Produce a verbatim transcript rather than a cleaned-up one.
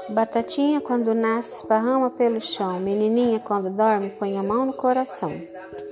Batatinha quando nasce esparrama pelo chão, menininha quando dorme põe a mão no coração.